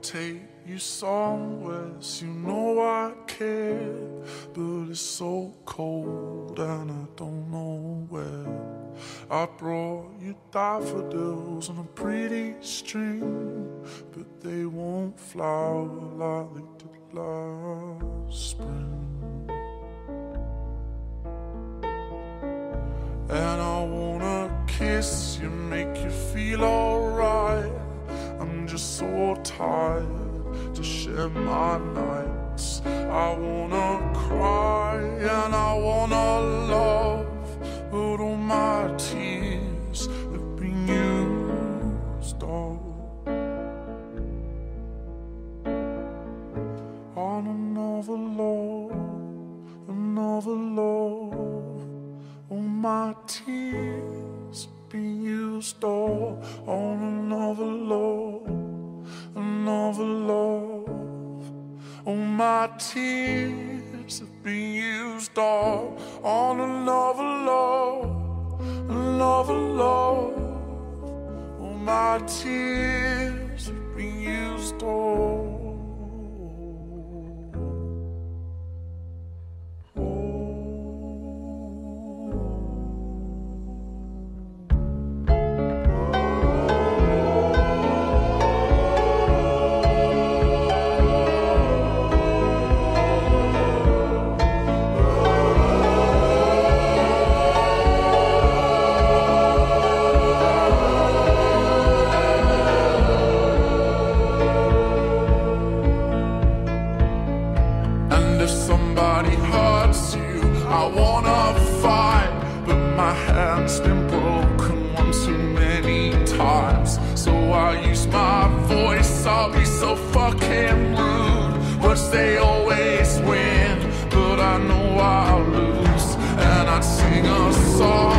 take you somewhere, so you know I care. But it's so cold and I don't know where. I brought you daffodils on a pretty string, but they won't flower like they did last spring. And I wanna kiss you, make you feel alright. I'm just so tired to share my nights. I wanna cry and I wanna love, but all my tears have been used up on another love, another love. All my tears have been used up on another love, another love. All my tears have been used up on another love, another love. All my tears have been used up. Somebody hurts you, I wanna fight, but my hand's been broken one too many times. So I use my voice, I'll be so fucking rude. Words they always win, but I know I'll lose. And I'd sing a song